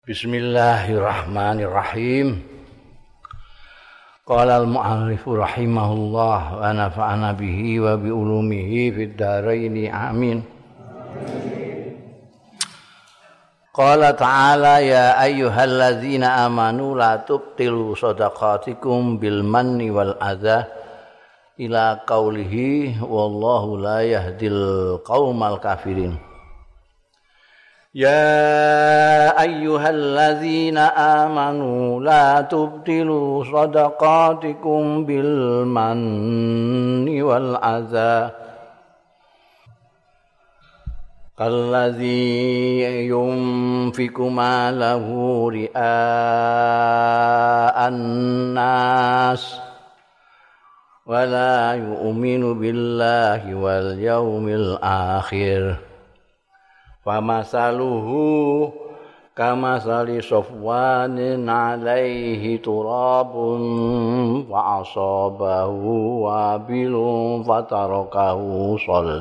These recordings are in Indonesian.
Bismillahirrahmanirrahim. Qala al-mu'allif rahimahullah wa nafa'ana bihi wa bi ulumihi fid dharain amin. Qala ta'ala ya ayyuhalladzina amanu la tubtilu shadaqatikum bil manni wal adza ila qaulihi wallahu la yahdil qaumal kafirin. Ya ayyuhalladzina amanu la tubtilu shadaqatikum bil manni wal adza kalladzi yunfiqu malahu ria'an nas wa la yu'minu billahi wal yawmil akhir. Famasaluhu kamasali safwanin alaihi turabun fa asabahu wabilun fatarakahu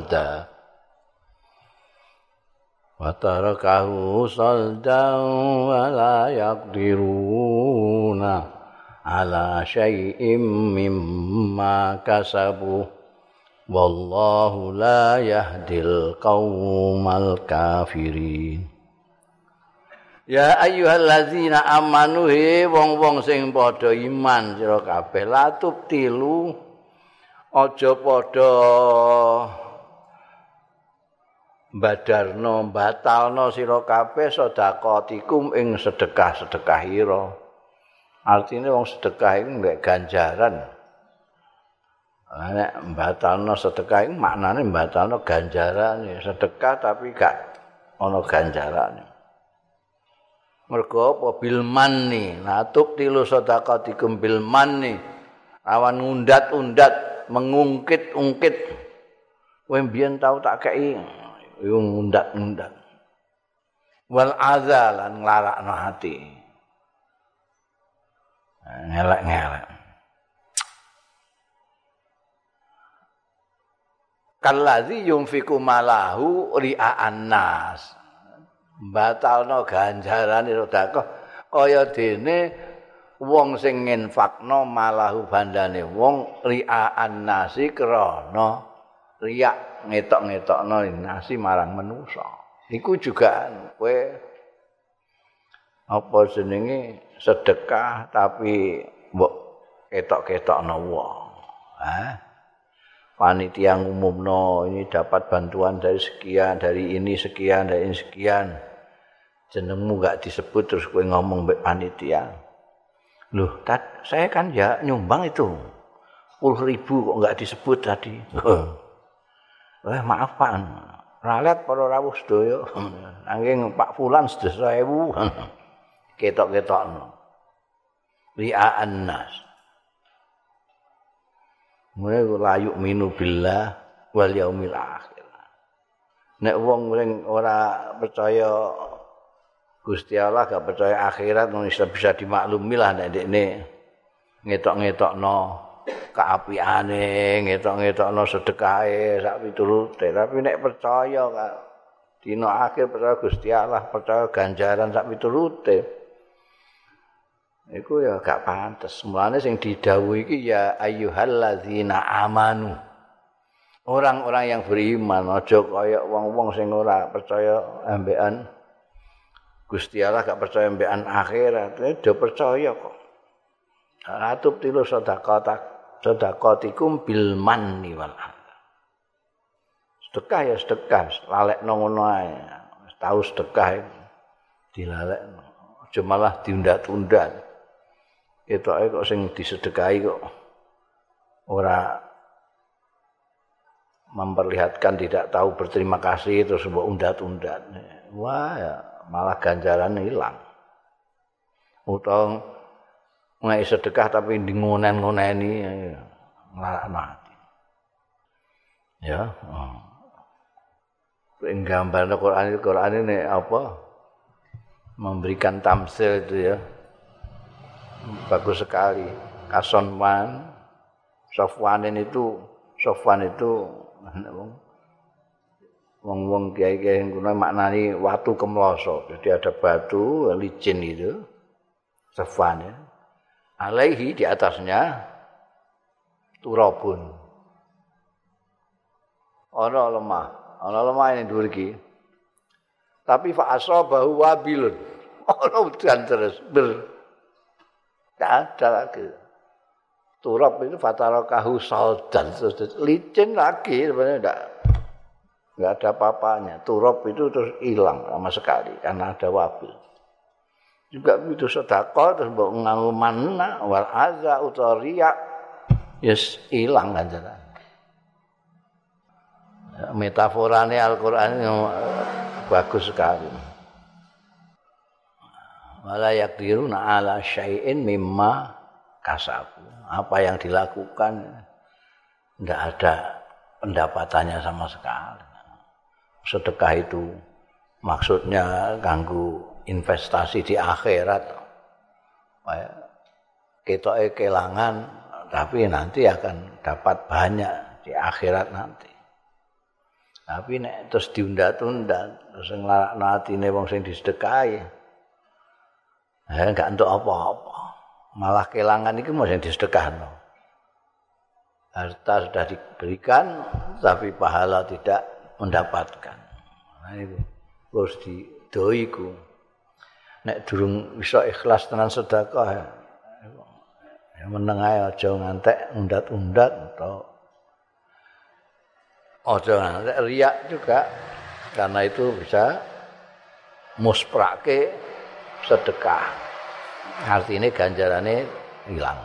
saldan wa la yaqdiruna ala syai'im mimma kasabu. Wallahu la yahdil qaumal kafirin. Ya ayyuhalladzina amanu he wong-wong sing padha iman sira kabeh la tubtilu aja padha badarno batalno sira kabeh sedekatikum ing sedekah-sedekahira. Artine wong sedekah iku mbek ganjaran. Nek mbatalno sedekah iku maknane mbatalno ganjarane, sedekah tapi gak ana ganjarane. Mergo apa bil manni, natub tilu sedekatikum bil manni. Awan ngundat-undat, mengungkit-ungkit. Kowe mbiyen tau tak kei yo ngundat-undat. Wal azalan nglarakno ati. Ngelek-ngelek. Kalladzi yunfiqu malahu ria'an nas. Batalno ganjarane sedekah kaya dene wong sing nginfakno malahu bandane wong ria'an nasi krana riak ngetok-ngetokno nasi marang manusa. Iku juga kowe apa jenenge sedekah tapi mbok ketok-ketokno wong. Panitia ngumumno ini dapat bantuan dari sekian, dari ini sekian, dari ini sekian. Jenengmu enggak disebut terus kowe ngomong mbek panitia. Loh, saya kan ya nyumbang itu. 10.000 kok enggak disebut tadi. Maaf Pak. Ralet para rawuh sedaya. Nanging Pak Fulan 10.000. Ketok-ketokno. Ria'an nas. Mulai layuk minu billah wal yaumil akhir. Nek wong sing ora percaya Gusti Allah, gak percaya akhirat, bisa dimaklumi lah nek dekne ngetok-ngetokno kaapiane, ngetok-ngetokno sedekahe sak piturute. Tapi nek percaya kak dina akhir percaya Gusti Allah, percaya ganjaran sak piturute. Iku ya gak pantes. Mulane sing didhawuhi iki ya ayyuhalladzina amanu. Orang-orang yang beriman aja kaya wong-wong sing ora percaya ambekan Gusti Allah, gak percaya ambekan akhirat. Dia percaya kok. Atub tilu sedekatikum bil manni wal adza. Sedekah ya sedekah, lalekno ngono ae. Tahu sedekah dilalekno. Aja malah diundat-undat. Ketoke kok sing disedekahi kok ora memperlihatkan tidak tahu berterima kasih terus mbok undat-undat. Wah, ya, malah ganjaran hilang. Utawa ngai sedekah tapi ngonen-ngoneni nglarakno ati. Ya. Ing gambarno Quran ini apa? Memberikan tamsil itu ya. Bagus sekali. Safwan itu Wong-wong kiai-kiai kuno maknani watu kemloso. Jadi ada batu licin itu, safwan ya. Alaihi di atasnya turabun. Ana lemah ini dhuwur iki. Tapi fa asabahu wabilun. Ana udan terus tidak ada lagi. Turab itu fatarakahu saldan, licin lagi sebenarnya enggak ada apa-apanya. Turab itu terus hilang sama sekali karena ada wabil. Juga begitu sedekah terus mbok nganggo manna wal aza utaria yes hilang ganjaran. Metaforane Al-Qur'an bagus sekali. Wala yaqdiruna ala syai'in mimma kasabu. Apa yang dilakukan tidak ada pendapatannya sama sekali. Sedekah itu maksudnya ganggu investasi di akhirat. Ketoke kelangan tapi nanti akan dapat banyak di akhirat nanti. Tapi nek terus diunda-tunda terus nglarakno atine wong sing disedekahi. Enggak entuk apa-apa. Malah kelangan itu mau yang disedekahno. Harta sudah diberikan tapi pahala tidak mendapatkan. Nah itu harus didoiku. Nek durung bisa ikhlas tenan sedekah ya meneng ae aja ngantek undat-undat atau aja ngantek riak juga karena itu bisa musprake sedekah. Artinya ganjarane hilang.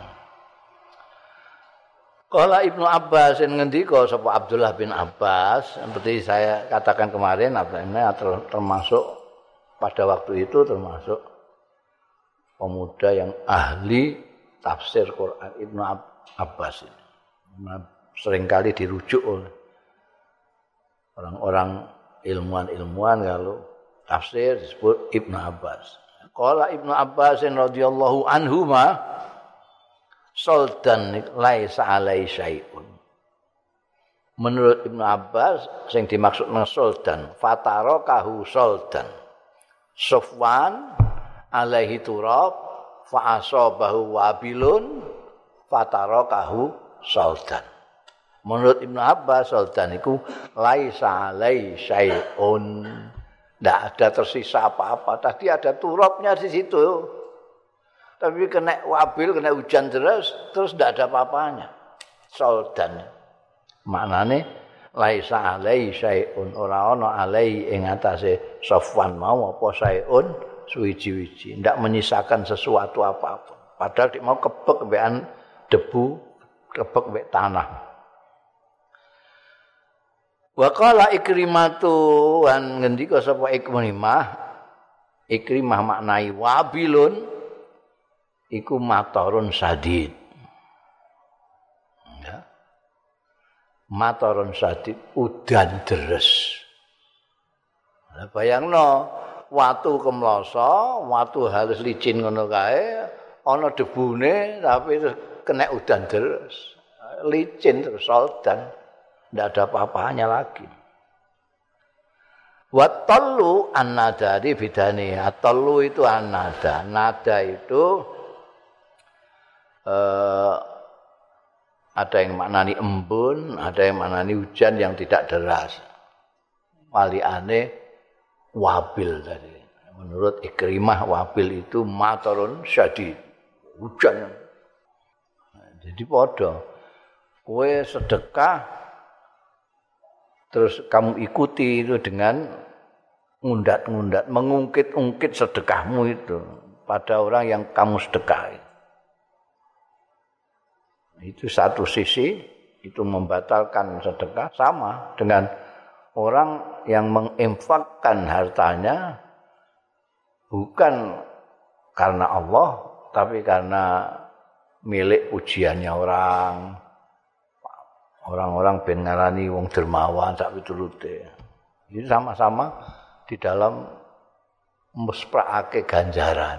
Qala Ibnu Abbas ngendika sapa Abdullah bin Abbas seperti saya katakan kemarin Abdullah termasuk pada waktu itu termasuk pemuda yang ahli tafsir Quran. Ibnu Abbas ini seringkali dirujuk oleh orang-orang ilmuwan-ilmuwan kalau tafsir disebut Ibnu Abbas. Qala Ibnu Abbas radhiyallahu anhuma soldan laisa alai syai'un. Menurut Ibnu Abbas sing dimaksud nang soldan fatarakahu soldan. Sufwan alaihi turab fa asabahu wabilun fatarakahu soldan. Menurut Ibnu Abbas soldan iku laisa alai syai'un. Tidak ada tersisa apa-apa. Tadi ada turabnya di situ. Tapi kena wabil, kena hujan terus tidak ada apa-apanya. Soldan. Maknane laisa alai syai'un ora ana alai ing atase Safwan mau apa syai'un suwiji-wiji. Tidak menyisakan sesuatu apa-apa. Padahal dia mau kebek mbekan debu, kebek mbek tanah. Wa qala Ikrimatu wan ngendika sapa Ikrimah maknai wabilun iku matarun sadid. Ya. Matarun sadid udan deres. Lah bayangno watu kemloso, watu halus licin ngono kae ana debune tapi kena udan deres. Licin terus soldan. Tidak ada apa-apanya lagi. Watallu an-nada di bidani. Atallu itu an-nada. Nada itu ada yang maknani embun, ada yang maknani hujan yang tidak deras. Waliane wabil tadi. Menurut Ikrimah wabil itu matarun syadid. Hujan. Jadi padha. Kowe sedekah terus kamu ikuti itu dengan ngundat-ngundat, mengungkit-ungkit sedekahmu itu pada orang yang kamu sedekahi. Itu satu sisi, itu membatalkan sedekah sama dengan orang yang menginfakkan hartanya bukan karena Allah, tapi karena milik pujiannya orang-orang ben ngarani wong dermawan sak piturute. Itu sama-sama di dalam mespraake ganjaran.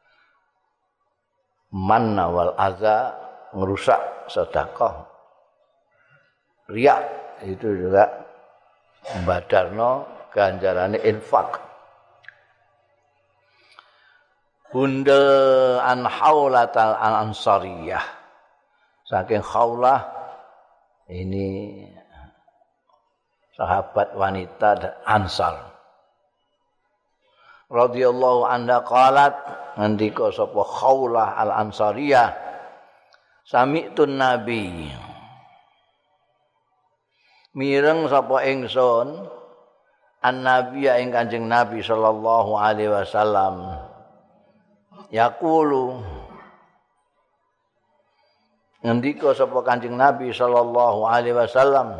Manna wal aza ngerusak sedekah. Riya itu juga badarno ganjarane infak. Bunda an Haulatal Ansariyah, saking Khaulah ini sahabat wanita Ansar. Radhiyallahu anha qalat, ngendika sapa Khaulah al Ansariyah, sami'tun nabi, mireng sapa ingsun an-nabiya ing Kanjeng Nabi sallallahu alaihi wasallam yaqulu, ngendika sapa Kanjeng Nabi sallallahu alaihi wasallam,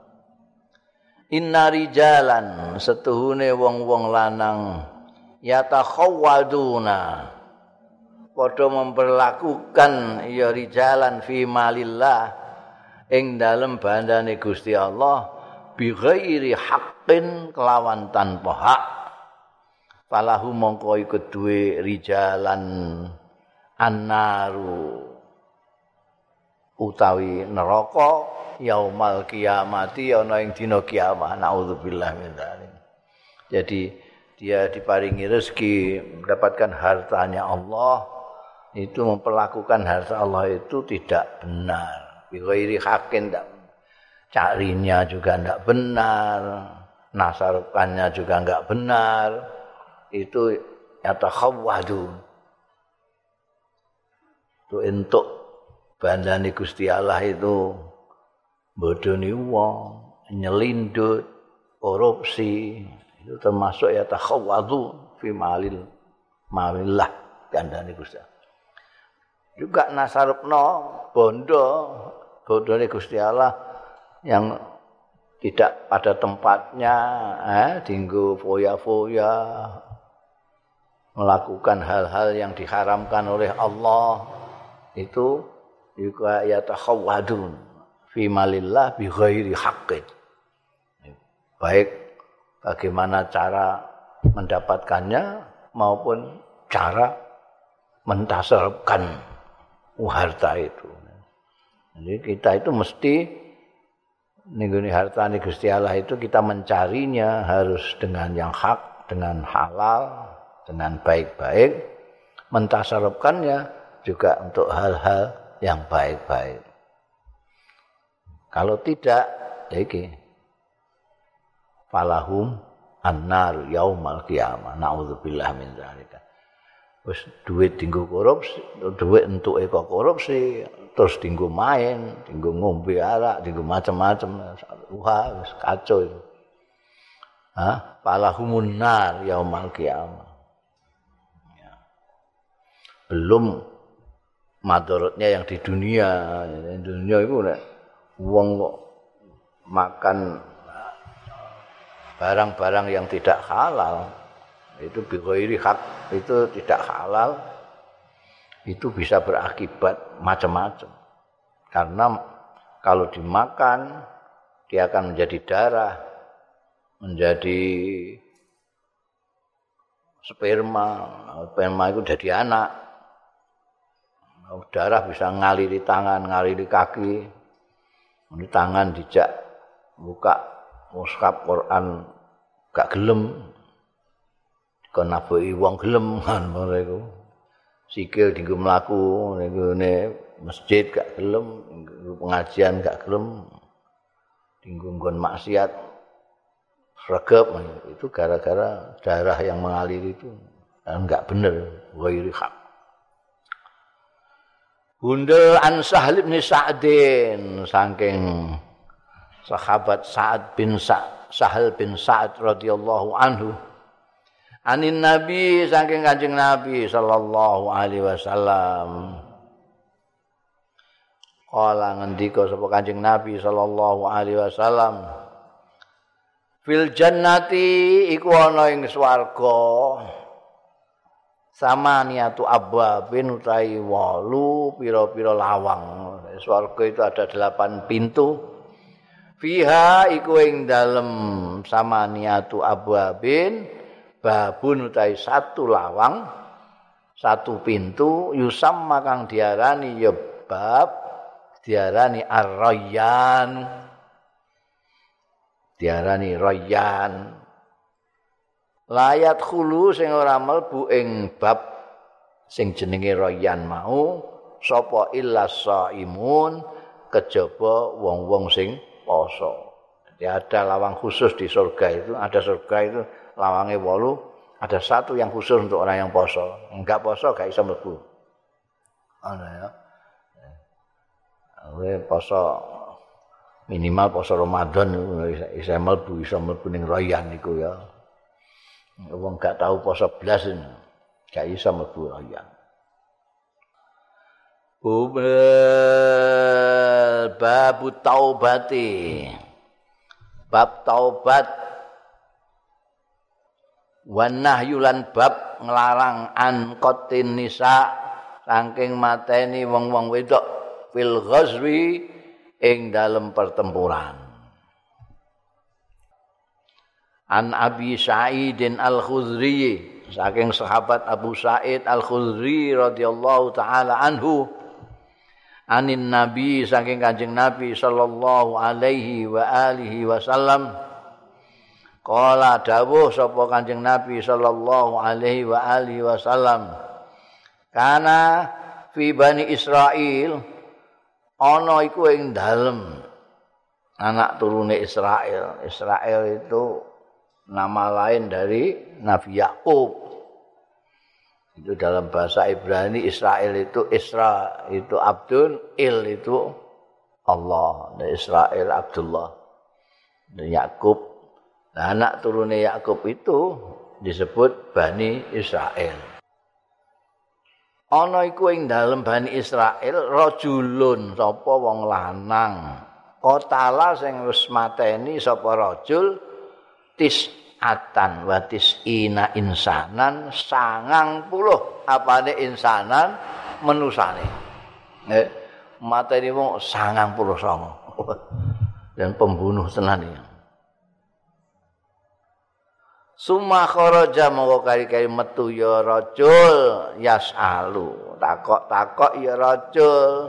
inna rijalan, setuhune wong-wong lanang yatakhawwaduna, padha memperlakukan ya rijalan fi malillah ing dalem bandane Gusti Allah bi ghairi haqqin, kelawan tanpa hak. Falahu mongko iku duwe rijalan annaru, utawi neraka yaumal kiamati, ana ing dina kiamat. Nauzubillah min dzalik. Jadi dia diparingi rezeki, mendapatkan hartanya Allah, itu memperlakukan harta Allah itu tidak benar. Bi ghairi haqqin, carinya juga tidak benar, nasarkannya juga enggak benar. Itu yatakhawwadu. Itu entuk bandane Gusti Allah itu bodoni wong, nyelindut, korupsi, itu termasuk yatakhawwadu fi malillah bandane Gusti Allah. Juga nasarupno bondone Gusti Allah yang tidak pada tempatnya, dinggo foya-foya, melakukan hal-hal yang diharamkan oleh Allah, itu juga yatakhawwadun fi malillah bi ghairi haqqin. Baik bagaimana cara mendapatkannya maupun cara mentasarrufkan harta itu. Jadi kita itu mesti nenggone hartane Gusti Allah itu kita mencarinya harus dengan yang hak, dengan halal, dengan baik-baik, mentasarrufkannya juga untuk hal-hal yang baik-baik. Kalau tidak, ya iki falahum annar yaumal qiyamah. Nauzubillah min dzalika. Wis duit dienggo korupsi, duit entuke kok korupsi, terus dienggo main, dienggo ngombe arak, dienggo macam-macam. Wah, wis kacau itu. Falahumun nar yaumal qiyamah. Belum madorotnya yang di dunia. Di dunia itu nek wong kok makan barang-barang yang tidak halal, itu bi ghairi hak, itu tidak halal, itu bisa berakibat macam-macam. Karena kalau dimakan dia akan menjadi darah, menjadi sperma itu jadi anak. Darah bisa ngaliri tangan, ngaliri kaki. Ini tangan dijak buka mushaf Quran gak gelem. Kon nabuhi wong gelem kan mereka. Sikil dienggo mlaku ning masjid gak gelem, pengajian gak gelem. Dienggo nggon maksiat sregep, itu gara-gara darah yang mengalir itu enggak benar, ghairi hak. Bunda an Sahal bin Sa'din, saking sahabat Sahal bin Sa'ad radhiyallahu anhu, anin Nabi, saking Kanjeng Nabi sallallahu alaihi wasallam, kala ngendika sapa Kanjeng Nabi sallallahu alaihi wasallam, fil jannati iku ana ing swarga samaniatu abwabin utawi 8 pira-pira lawang. Swarga itu ada 8 pintu. Fiha iku ing dalem samaniatu abwabin babun utawi 1 lawang, 1 pintu, yusamma kang diarani ya bab, diarani ar-rayyan. diarani Rayyan. Layat khulu sing ora mlebu ing bab sing jenenge Rayyan mau sapa illas shaimun kejaba wong-wong sing poso. Jadi ada lawang khusus di surga itu, ada surga itu lawangnya 8, ada satu yang khusus untuk orang yang poso. Enggak poso gak bisa mlebu. Ana ya. Poso minimal poso Ramadan bisa mlebu ning Rayyan iku ya. Wong gak tahu poso blas gak iso mlebu Rayyan. Bab taubati. Bab taubat wan nahyulan bab nglarang an qatin nisa saking mateni wong-wong wedok fil ghazwi ing dalem pertempuran. An Abi Sa'id Al-Khudri saking sahabat Abu Sa'id Al-Khudri radhiyallahu taala anhu anin Nabi saking Kanjeng Nabi sallallahu alaihi wa alihi wasallam qala dawuh sapa Kanjeng Nabi sallallahu alaihi wa alihi wasallam kana fi Bani Israil ana iku ing dalem anak turune Israel. Israel itu nama lain dari Nabi Yakub. Itu dalam bahasa Ibrani Israel itu Isra itu Abdul, Il itu Allah. Dan Israel Abdullah. Dan Yakub. Nah, anak turune Yakub itu disebut Bani Israel. Ana iku ing dalem Bani Israel rajulun sapa wong lanang. Qatala sing wis mateni sapa rajul tis'atan wa tis'ina insanan 90 apane insanan menusane. Mateni wong 99. Dan pembunuh tenan iki. Summa kharaja mongko kari-kari metu ya rajul yasalu. Takok-takok ya rajul.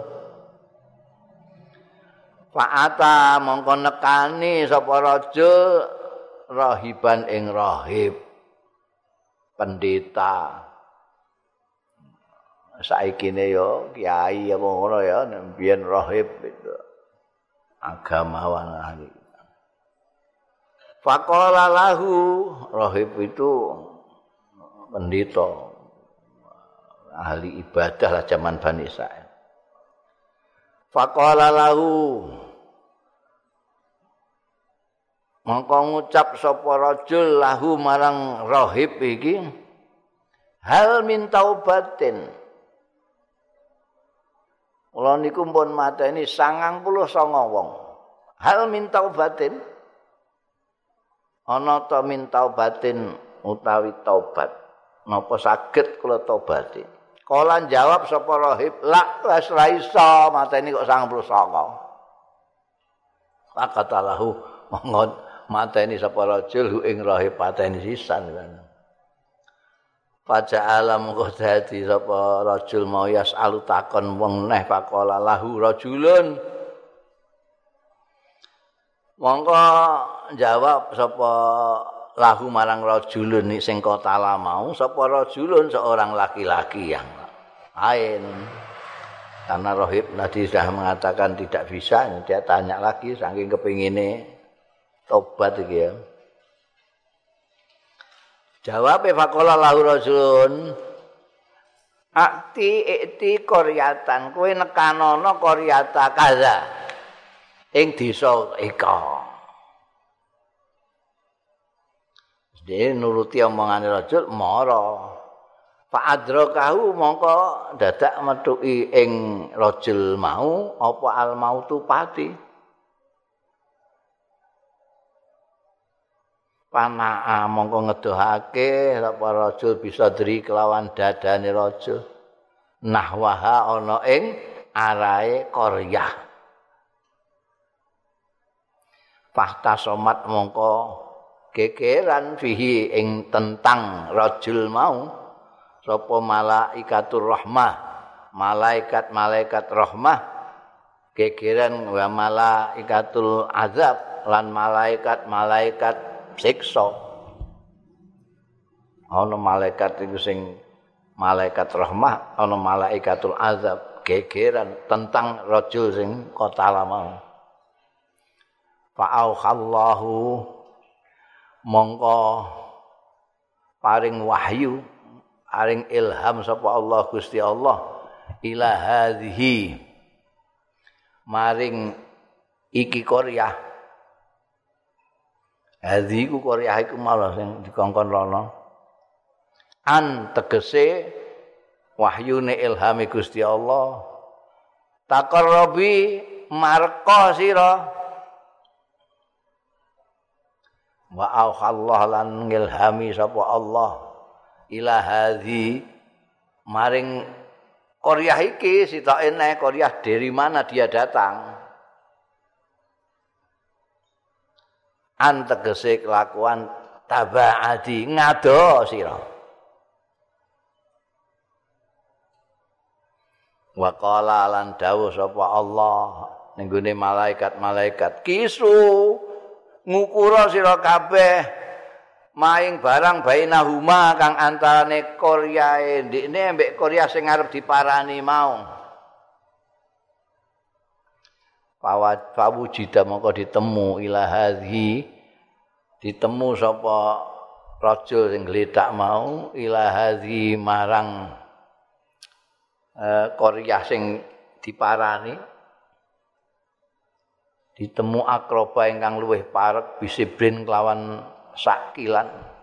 Fa'ata mongko nekani sapa rajul rahiban ing rahib pendeta saikine yo kiai apa ngono ya mbiyen rahib itu agamawan ahli. Faqala lahu rahib itu pendeta ahli ibadah lah zaman Bani Israil. Faqala lahu mongko ngucap sapa rajul lahu marang rahib iki hal min taubatin. Kula niku pun mateni 99 wong. Hal min taubatin. Ana ta min taubatin utawi taubat. Napa saged kula taubati? Kala jawab sapa rahib, la wis ra iso mateni kok 99. Pakatalahu monggo mateni sapa rajul ing rahib pateni sisan kan. Faja'ala mongko dadi sapa rajul mau yasalu takon wong neh faqala lahu rajulun. Mongko jawab sapa lahu marang rajulun sing kotala mau sapa rajulun seorang laki-laki yang lain. Karena rahib tadi sudah mengatakan tidak bisa, dia tanya lagi saking kepingine tobat iki ya. Jawabe faqala lahu rajulun ikti qaryatan kowe nekanono qaryata kaza ing desa ika. Dene nuruti omongane rajul mara. Fa adrakahu mongko dadak metuki ing rajul mau apa al mautu pati. Panaa mongko ngedohake sapa rajul bisa dri kelawan dadane rajul. Nahwaha ana ing arahe qaryah. Fahta somat mongko gegeran fihi ing tentang rajul mau sapa malaikatur rahmah malaikat-malaikat rahmah gegeran wa malaikatul azab lan malaikat siksa. Ana malaikat iku sing malaikat rahmah, ana malaikatul azab, gegeran tentang rajul sing qatala mau. Fa'auhallahu mongko paring wahyu, paring ilham sapa Allah Gusti Allah ila hadhihi maring iki Koryah. Hadhi ku Koryah iku malah sing dikongkon rono. An tegese wahyune ilhame Gusti Allah. Taqarrabi marqa sira. Wa auhallah lan ngilhami sapa Allah ila hadhi maring Koryah iki sitoke nek Koryah dari mana dia datang. An tegese kelakuan tabaadi ngado sira. Wa qala lan dawuh sapa Allah ning gone malaikat-malaikat kisu ngukura sira kabeh maing barang bainahuma kang antarane Koryae ndekne mbek Koryah sing arep diparani mau. Pawujida mongko ditemu ila hadhi ditemu sapa rajul sing gledak mau ila hadhi marang Koryah sing diparani ditemu akroba ingkang luwih parek bisibrin kelawan sakilan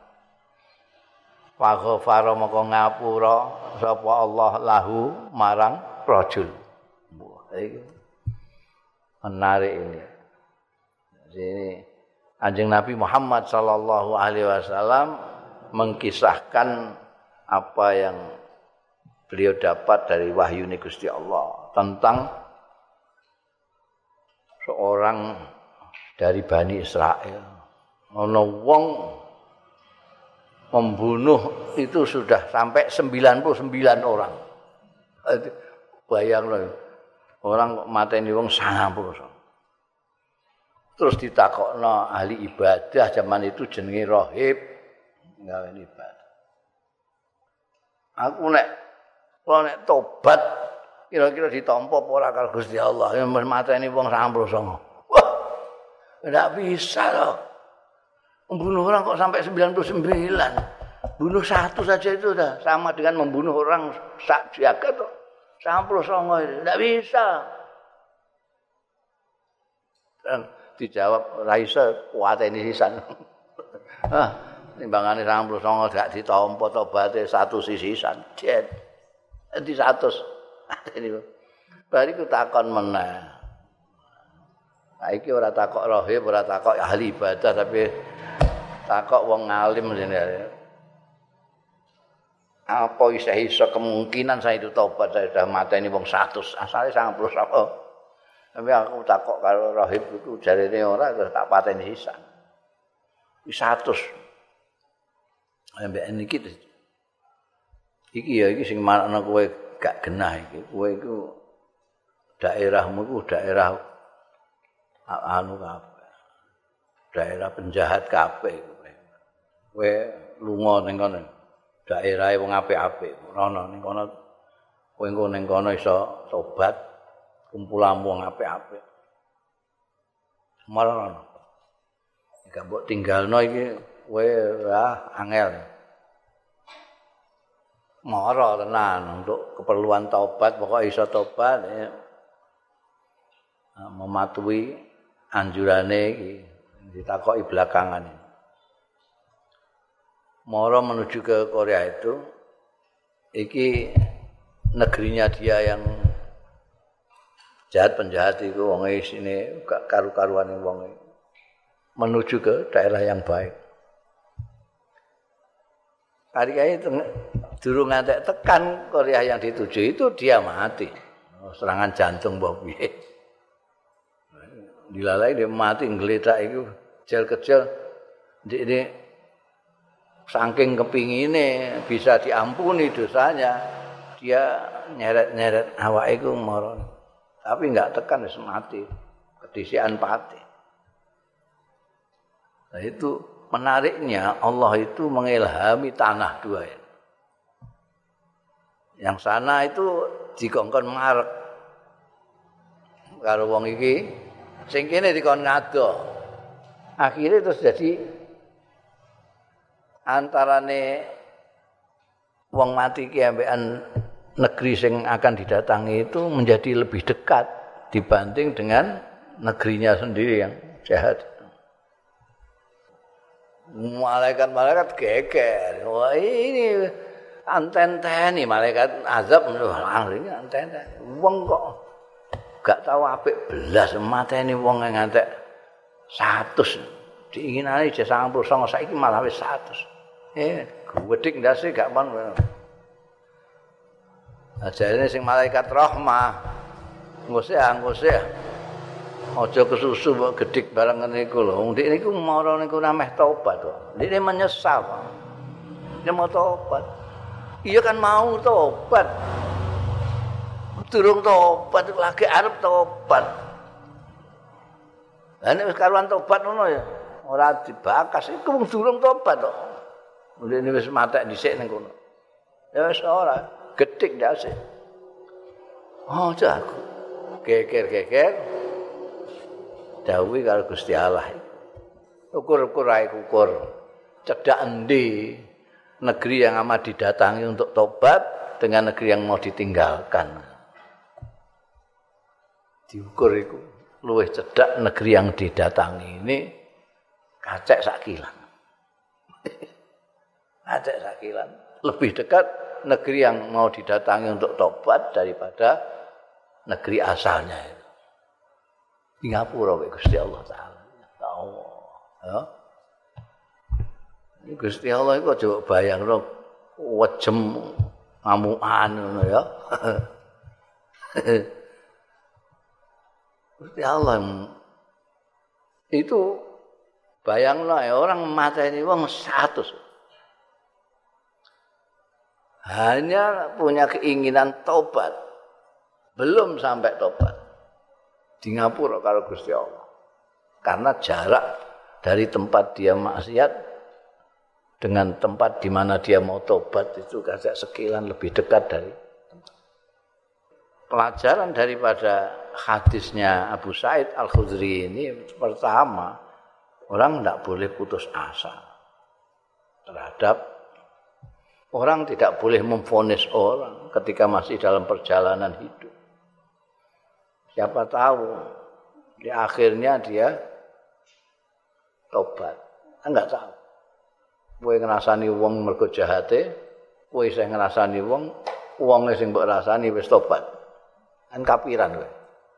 faghfara moko ngapura sapa Allah lahu marang rajul. Iki menarik ini. Jadi Kanjeng Nabi Muhammad sallallahu alaihi wasallam mengkisahkan apa yang beliau dapat dari wahyu Gusti Allah tentang seorang dari Bani Israel. Ana wong membunuh itu sudah sampai 99 orang. Bayangno orang kok mateni wong 90. Terus ditakokno ahli ibadah zaman itu jenenge rahib gawe ibadah. Aku nek tobat kira-kira ditampa apa ora karo Gusti Allah yen mateni wong 99. Wah, enggak bisa loh. Membunuh orang kok sampai 99. Bunuh satu saja itu sudah sama dengan membunuh orang sak jagat kok. 99 enggak bisa. Dan dijawab Raisa kuateni sisan. Timbangane 99 gak ditampa tobaté satu sisisan. Di 100 ini bariku takon meneh. Saiki ora takok rahib, ora takok ahli ibadah tapi takok wong alim jenenge. Apa iso kemungkinan saya itu tobat saya sudah mateni wong 100 asale 90 sapa. Tapi aku takok karo rahib iku jarene ora terus tak pateni sisan. Wis 100. Ambek niki iki ya iki sing manakna kowe gak genah iki. Kowe iku daerahmu iku daerah anu kabeh. Daerah penjahat kabeh kowe. Kowe lunga ning kono. Daerahe wong apik-apik. Rono ning kono kowe engko ning kono iso tobat kumpulan wong apik-apik. Marono. Gak mbok tinggalno iki kowe angel. Mara tenan untuk keperluan taubat pokok iso tobat ya. Mematuhi anjurane iki ditakoki belakangan ini. Mara menuju ke Korea itu iki negerinya dia yang jahat penjahat itu wong isine gak karu-karuan wong menuju ke daerah yang baik. Hari itu durung ngantek tekan Korea yang dituju itu dia mati. Serangan jantung mbah piye. Dilalai dia mati nggledak iku jel kecil ini saking kepingine bisa diampuni dosanya dia nyeret-nyeret awake iku mara. Tapi enggak tekan wis mati. Kedisian pati. Nah, itu menariknya Allah itu mengilhami tanah dua ini. Yang sana itu dikongkon marek karo wong iki, sing kene dikon ngado. Akhirnya terus jadi antarane wong mati ki ambekan negeri sing akan didatangi itu menjadi lebih dekat dibanding dengan negerinya sendiri yang jahat. Malaikat-malaikat geger. Wah, ini anten-teni malaikat azab ini anten-teni. Wong kok gak tahu apik belas mateni wong ngantek 100. Diinginane je 99 saiki malah wis 100. Gedhik ndase gak pon. Ajarane sing malaikat rahmah. Ngusih. Aja kesusu kok gedhik barang ngene iku lho. Wong ndek niku mara niku nameh tobat kok. Ndek menyesal. Dia mau tobat. Iya kan mau tobat. Durung tobat lagi arep tobat. Lah nek wis karuan tobat ngono ya ora dibakas iku wong durung tobat kok. Ndek wis matek dhisik ning kono. Ya wis ora gedhik ndase. Oh, jago. Geger. Dawuh karo Gusti Allah. Ukur-ukur ae ukur. Cedhak endi negeri yang amat didatangi untuk tobat dengan negeri yang mau ditinggalkan. Diukur iku luwih cedhak negeri yang didatangi ini kacek sakilan. Kacek sakilan. Lebih dekat negeri yang mau didatangi untuk tobat daripada negeri asalnya itu. Singapura Gusti Allah taala. Allah. Ya. Gusti Allah iku aja bayangno wejem ngamukan ngono ya. Gusti Allah itu bayangno orang mateni wong 100. Hanya punya keinginan tobat. Belum sampai tobat. Di ngapura karo Gusti Allah. Karena jarak dari tempat dia maksiat dengan tempat di mana dia mau tobat itu kagak sekilan lebih dekat dari tempat. Pelajaran daripada hadisnya Abu Sa'id Al-Khudri ini pertama, orang tidak boleh putus asa terhadap orang, tidak boleh memvonis orang ketika masih dalam perjalanan hidup. Siapa tahu di akhirnya dia tobat. Enggak tahu. Kowe ngrasani wong mergo jahate, kowe sing ngrasani wong sing mbok rasani wis tobat. Kan kapiran kowe.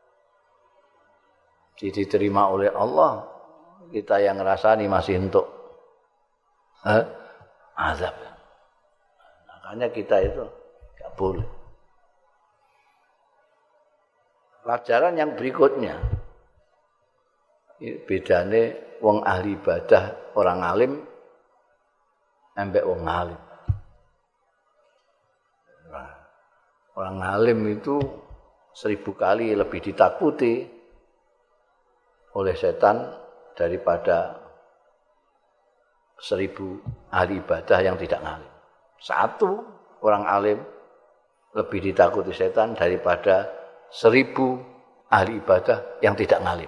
Diterima oleh Allah, kita yang ngrasani masih untuk azab. Makanya kita itu enggak boleh. Pelajaran yang berikutnya, bedane wong ahli ibadah, orang alim, ambek wong alim. Orang alim itu 1000 kali lebih ditakuti oleh setan daripada 1000 ahli ibadah yang tidak ngalim. Satu orang alim lebih ditakuti setan daripada 1000 ahli ibadah yang tidak ngalim.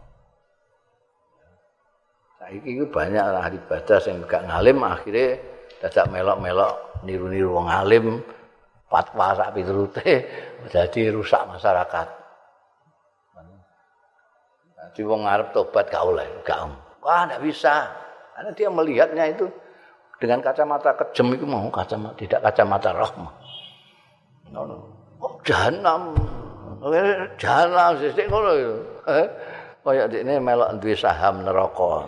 Saiki iku banyak ahli ibadah sing gak ngalim akhirnya dadak melok-melok niru-niru wong alim, fatwa sak piturute dadi rusak masyarakat. Dadi wong arep tobat gak oleh, gak. Wah, enggak bisa. Karena dia melihatnya itu dengan kacamata kejem itu mau kacamata tidak kacamata rahmah. Oh, jahanam. Jahanam sithik ngono lho. Kaya dekne melok duwe saham neraka.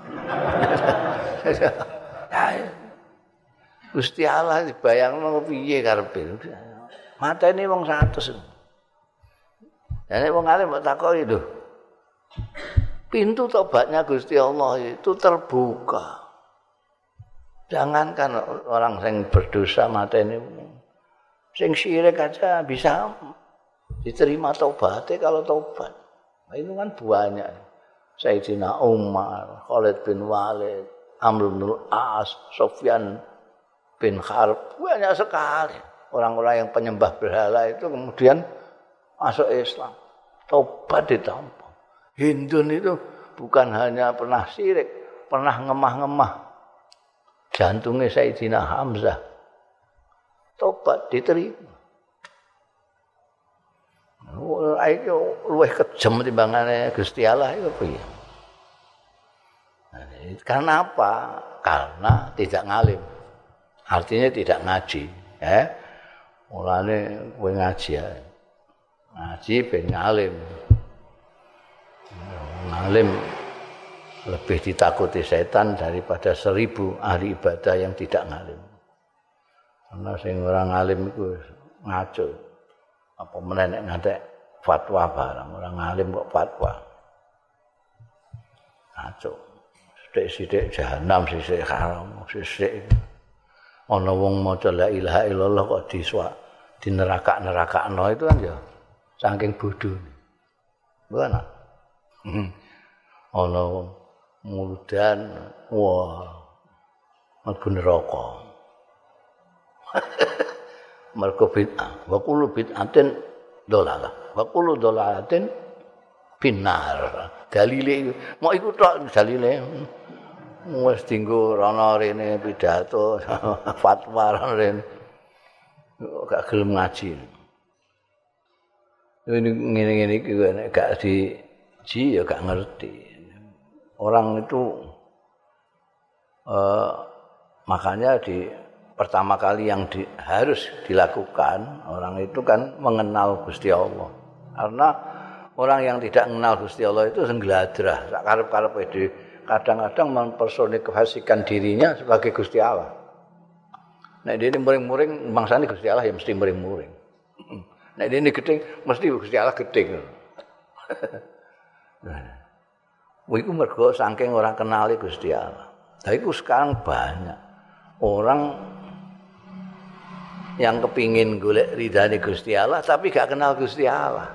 Gusti Allah dibayangno piye karepe. Mateni wong 100. Nek wong alim mbok takoki lho. Pintu tobatnya Gusti Allah itu terbuka. Jangankan orang yang berdosa mateni sing syirik aja bisa diterima tobatnya kalau tobat. Nah, itu kan banyak. Sayyidina Umar, Khalid bin Walid, Amr bin As, Sufyan bin Harb, banyak sekali orang-orang yang penyembah berhala itu kemudian masuk Islam. Tobat ditampa. Hindun itu bukan hanya pernah syirik, pernah ngemah-ngemah jantungnya Sayyidina Hamzah. Tobat diterima. Ayo luwih kejem timbangane Gusti Allah iku piye? Karena apa? Karena tidak ngalim. Artinya tidak ngaji, Mulane kowe ngaji ya. Ngaji ben ngalim. Ngalim lebih ditakuti setan daripada 1000 ahli ibadah yang tidak ngalim. Karena sing ora ngalim iku ngaco. Apa meneh ngantek fatwa barang, orang ngalim kok fatwa. Ngaco. Sithik-sithik jahanam, sithik haram, sithik. Ana wong maca la ilaha illallah kok di neraka-nerakakno itu kan ya saking bodhone. Bukan? Ana muludan wah mlebu neraka. Mergo bid'ah wa kullu bid'atin dolalah wa kullu dolalatin binar. Dalile mau iku tok dalile wis dienggo rono rene pidato fatwa rono rene gak gelem ngaji. Ini ngene-ngene iki nek gak diji ya gak ngerti. Orang itu makanya pertama kali yang harus dilakukan orang itu kan mengenal Gusti Allah. Karena orang yang tidak mengenal Gusti Allah itu senggladrah, sak karep-karepe dhewe. Kadang-kadang mempersonifikasikan dirinya sebagai Gusti Allah. Nek dene muring-muring mangsane Gusti Allah ya mesti muring-muring. Nek dene gedeng mesti Gusti Allah gedeng. Iku mergo saking orang kenali Gusti Allah. Lah iku sekarang banyak orang yang kepingin golek ridane Gusti Allah tapi gak kenal Gusti Allah.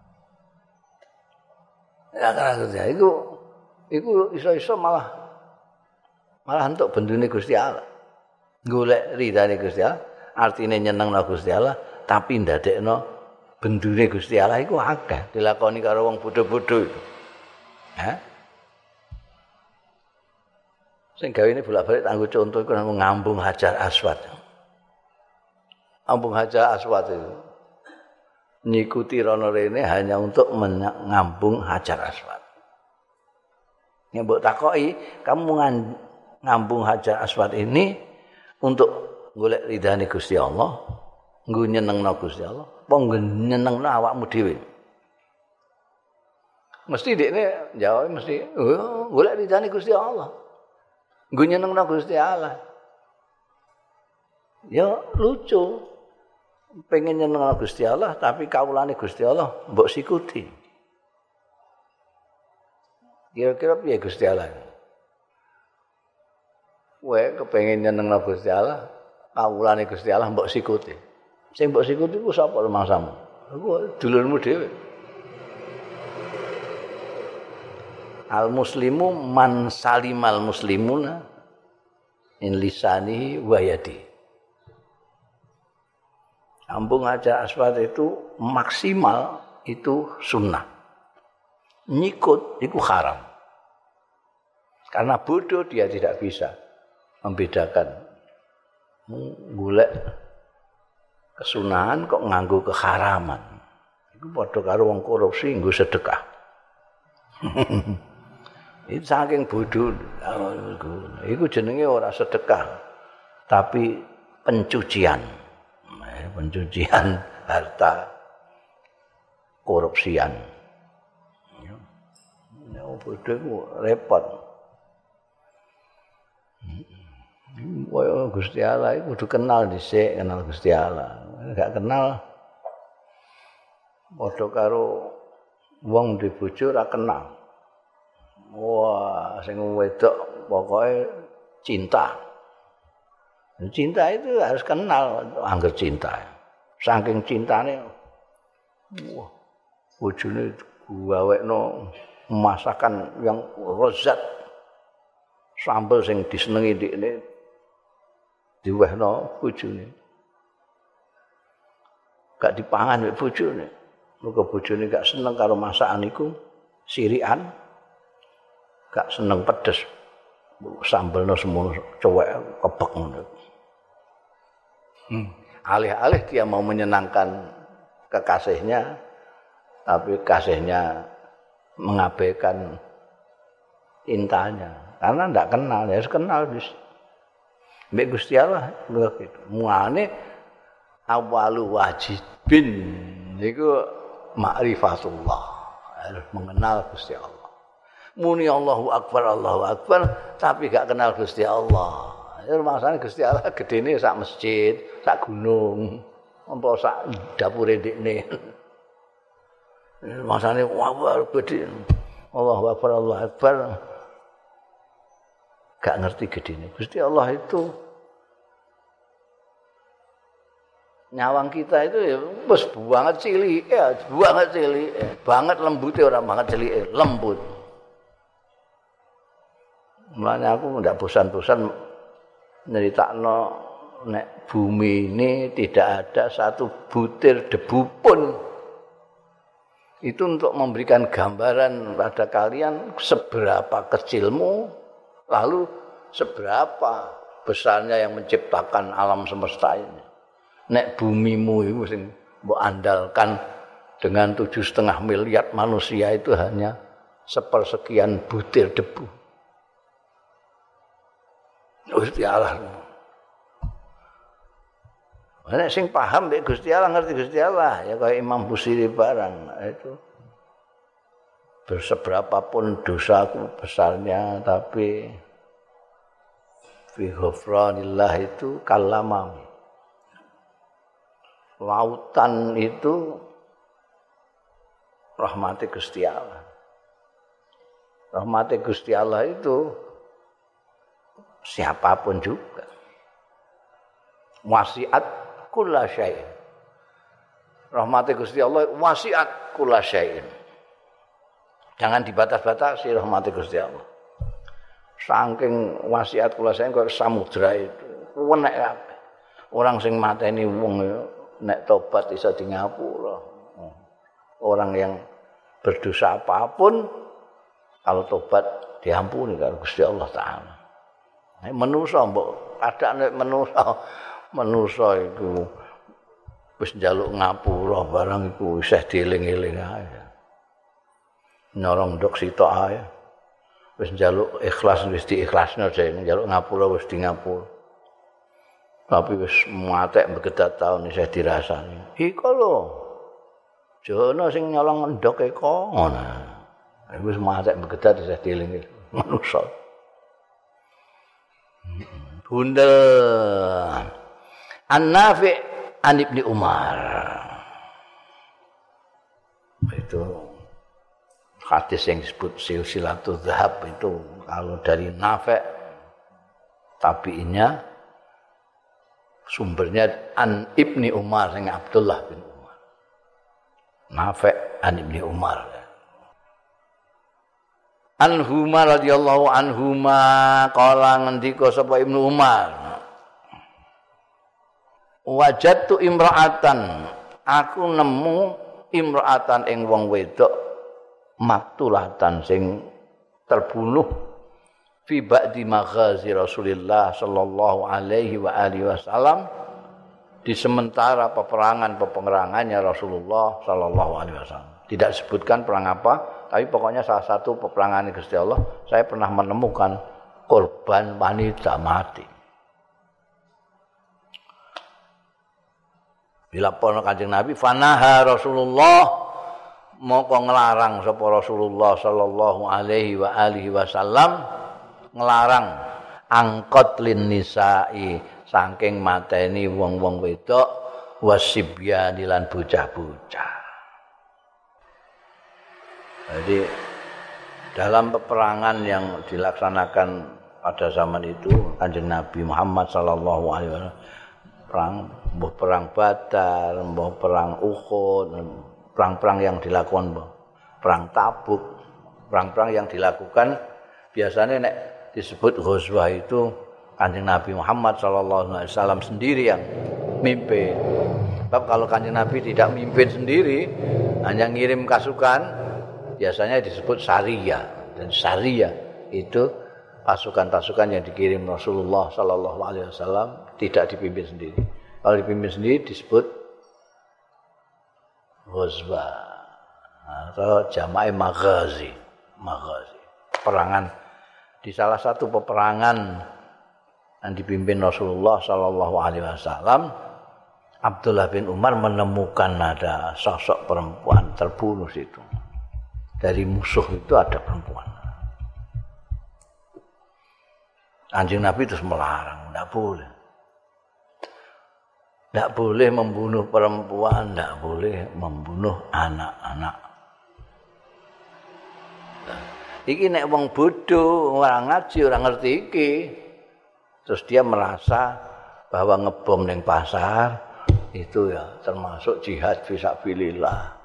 Ya kenal Gusti Allah iku iso-iso malah untuk bendune Gusti Allah. Golek ridane Gusti Allah, artine nyenengno Gusti Allah tapi ndadekno bendune Gusti Allah iku akeh dilakoni karo wong bodho-bodho itu. Sing gawene bolak-balik tanggo contoh iku nang ngambung Hajar Aswad. Ambung Hajar Aswad itu ngikuti rono rene hanya untuk mengambung Hajar Aswad. Yang mbok takoki, kamu ngambung Hajar Aswad ini untuk golek ridane Gusti Allah, nggo nyenengno Gusti Allah, apa nggo nyenengno awakmu dhewe? Mesti dekne jawab mesti, golek ridane Gusti Allah. Nggo nyenengno Gusti Allah. Ya lucu. Pengen nyenengno Gusti Allah tapi kawulane Gusti Allah mbok sikuti. Kira-kira piye Gusti Allah? Kowe kepengin nyenengno Gusti Allah, kawulane Gusti Allah mbok sikuti. Sing mbok sikuti ku sapa mangsamu? Iku dulurmu dhewe. Al muslimu man salimal muslimuna in lisanihi wa yadihi. Ambung Hajar Aswad itu maksimal itu sunnah. Nyikut itu haram. Karena bodoh dia tidak bisa membedakan. Golek kesunahan kok nganggo keharaman. Iku padha karo wong korupsi nggo sedekah. Itu saking bodoh. Iku jenenge ora sedekah, tapi pencucian harta korupsian. Ya bodoh ku repot. Gusti Allah iku kudu kenal dhisik, kenal Gusti Allah. Enggak kenal padha karo wong duwe bojo ora kenal. Wah, sing wedok pokoke cinta. Cinta itu harus kenal angger cinta. Saking cintane wah bojone gawekno masakan yang rozat, sambel sing disenengi ndekne diwehno bojone. Gak dipangan mek bojone. Muga bojone gak seneng karo masakan iku, sirikan. Gak seneng pedes. Sambelno semono cowek kebek ngono. Alih-alih dia mau menyenangkan kekasihnya, tapi kasihnya mengabaikan cintanya. Karena ndak kenal, ya kenal bis. Mbek Gusti Allah begitu. Mulane awalu wajibin niku ma'rifatullah. Harus mengenal Gusti Allah. Muni Allahu Akbar, tapi gak kenal Gusti Allah. Ya maksane Gusti Allah gedene sak masjid, sak gunung, apa sak dapure ndekne. Maksane wah gede. Allahu Akbar. Gak ngerti gedene. Gusti Allah itu nyawang kita itu ya wis banget cilik, banget lembute ora banget cilik, lembut. Mulanya aku ndak bosan-bosan nyeritakno nek bumi ini tidak ada satu butir debu pun. Itu untuk memberikan gambaran pada kalian seberapa kecilmu, lalu seberapa besarnya yang menciptakan alam semesta ini. Nek bumimu itu sing mbok andalkan dengan 7,5 miliar manusia itu hanya sepersekian butir debu. Gusti Allah. Nek sing paham mek Gusti Allah ngerti Gusti Allah ya kayak Imam Busiri barang itu. Berseberapapun dosaku besarnya tapi fi ghufranillah itu kalamam. Lautan itu rahmati Gusti Allah. Rahmati Gusti Allah itu siapapun juga. Wasiat kulla syai'in. Rahmati Gusti Allah wasiat kulla syai'in. Jangan dibatas-batasi rahmati Gusti Allah. Saking wasiat kulla syai'in kaya samudra itu. Wenek kabeh. Orang sing mateni wong nek tobat iso di ngapura. Orang yang berdosa apapun kalau tobat diampuni karo Gusti Allah taala. Manusa mbok kadang nek manusa iku wis njaluk ngapura barang iku isih dieling-eling ae. Nyorong ndok sitok ae. Wis njaluk ikhlas wis diikhlasno ae, njaluk ngapura wis di ngapura. Tapi wis matek begedat taun isih dirasani. Iku lho. Jono sing nyolong ndok eko ngono. Wis matek begedat isih dieling-eling manusa. Bundel An-Nafi' an Ibni Umar. Itu hadis yang disebut silsilatul dzahab itu kalau dari Nafi' tabi'innya sumbernya an Ibni Umar sing Abdullah bin Umar. Nafi' an Ibni Umar. Anhuma radhiyallahu anhuma qala ngendika sapa Ibnu Umar wajadtu imra'atan aku nemu imra'atan ing wong wedok maktulatan sing terbunuh fi ba'di maghazi Rasulillah sallallahu alaihi wa alihi wasallam di sementara peperangannya Rasulullah sallallahu alaihi wasallam. Tidak disebutkan perang apa, tapi pokoknya salah satu peperangan Gusti Allah saya pernah menemukan korban wanita mati. Dilaporno Kanjeng Nabi, fanaha Rasulullah moko nglarang sapa Rasulullah sallallahu alaihi wa alihi wasallam nglarang angkot lin nisa'i saking mateni wong-wong wedok wasibyan lan bocah-bocah. Jadi dalam peperangan yang dilaksanakan pada zaman itu Kanjeng Nabi Muhammad sallallahu alaihi wasallam perang Badar, perang Uhud, perang-perang yang dilakukan perang Tabuk, perang-perang yang dilakukan biasanya nek disebut ghazwah itu Kanjeng Nabi Muhammad sallallahu alaihi wasallam sendiri yang mimpin. Sebab kalau Kanjeng Nabi tidak mimpin sendiri, hanya ngirim pasukan, biasanya disebut sariyah. Dan sariyah itu pasukan-pasukan yang dikirim Rasulullah sallallahu alaihi wasallam tidak dipimpin sendiri. Kalau dipimpin sendiri disebut ghazwah atau jama'i maghazi. Peperangan di salah satu peperangan yang dipimpin Rasulullah sallallahu alaihi wasallam, Abdullah bin Umar menemukan ada sosok perempuan terbunuh situ. Dari musuh itu ada perempuan. Kanjeng Nabi terus melarang, tidak boleh. Tidak boleh membunuh perempuan, tidak boleh membunuh anak-anak. Iki nek wong bodoh, orang ngaji, orang ngerti iki. Terus dia merasa bahwa ngebom ning pasar itu ya termasuk jihad fisabilillah.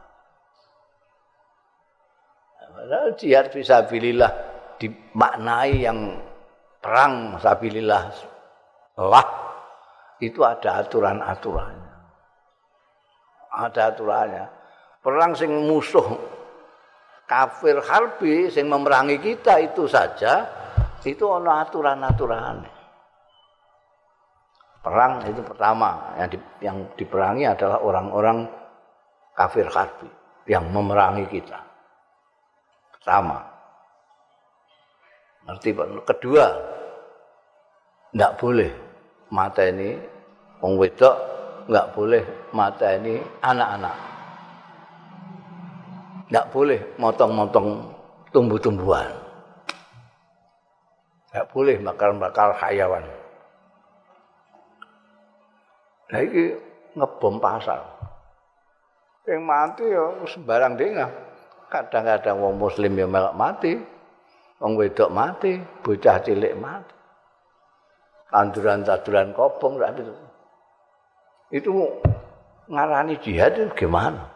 Padahal jihad fisabilillah dimaknai yang perang sabilillah lah itu ada aturan-aturannya. Ada aturannya. Perang sing musuh kafir harbi sing memerangi kita itu saja itu ana aturan-aturane. Perang itu pertama yang diperangi adalah orang-orang kafir harbi yang memerangi kita. Pertama. Ngerti Pak? Kedua, enggak boleh mateni wong wedok, enggak boleh mateni anak-anak. Enggak boleh motong-motong tumbuh-tumbuhan. Enggak boleh bakar-bakar hayawan. Nah iki ngebom pasar. Yang mati ya sembarang dengah. Kadang-kadang wong muslim ya melok mati. Wong wedok mati, bocah cilik mati. Tanduran-tanduran kobong itu ngarani jihad itu gimana?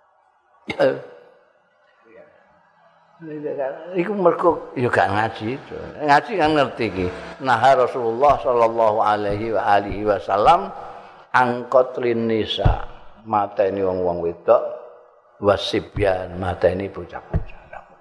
Iku mergo ya gak ngaji itu. Ngaji kan ngerti iki. Nah Rasulullah sallallahu alaihi wasallam angkotlin nisa mateni wong-wong wedok wasibyan mateni bocah-bocah.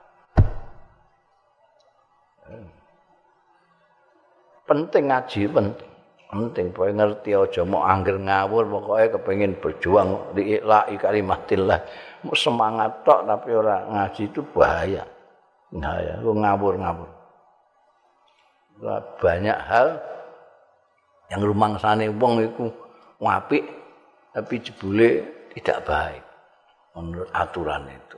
Penting ngaji penting pokoke ngerti aja mau angger ngawur pokoke kepengin berjuang di ilahi kalimatillah mau semangat tok tapi ora ngaji itu bahaya. Bahaya lu ngawur-ngawur. Banyak hal yang rumangsane wong iku apik tapi jebule tidak baik menurut aturan itu.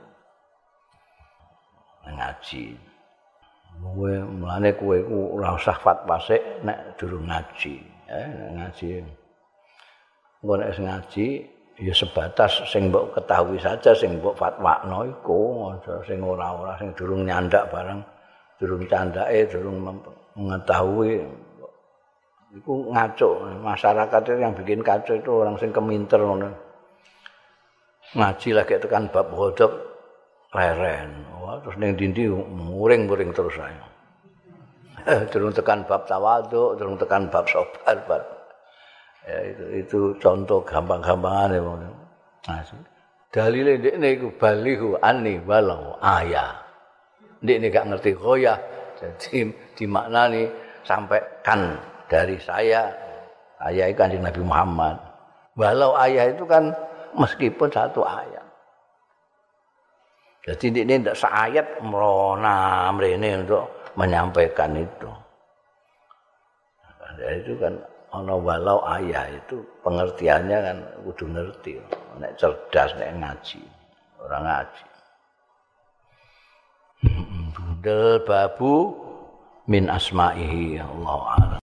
Ngaji. Kowe mulane kowe iku ora usah fatwa sik nek durung ngaji, ngaji. Engko nek ngaji ya sebatas sing mbok ketahui saja sing mbok fatwakno iku, aja sing ora-ora sing durung nyandak barang, durung candake, durung mengetahui. Iku ngaco, masyarakat itu yang bikin kacau itu orang sing keminter ngono. Ngaji lagi tekan bab ghadab leren. Wah, terus ning dindi muring-muring terus ae. Durung tekan bab tawadhu, durung tekan bab sabar. Ya itu contoh gampang-gampangane ngono. Dalile ndekne iku balihu anni walau ayah. Ndekne gak ngerti ghoyah. Jadi dimaknani sampaikan dari saya itu Kanjeng Nabi Muhammad. Walau ayah itu kan meskipun satu ayat. Jadi ini tidak seayat merona mrene untuk menyampaikan itu. Jadi itu kan ana walau ayah itu pengertiannya kan kudu ngerti. Nek cerdas nek ngaji, orang ngaji. Bundel babu min asma'ihi Allah.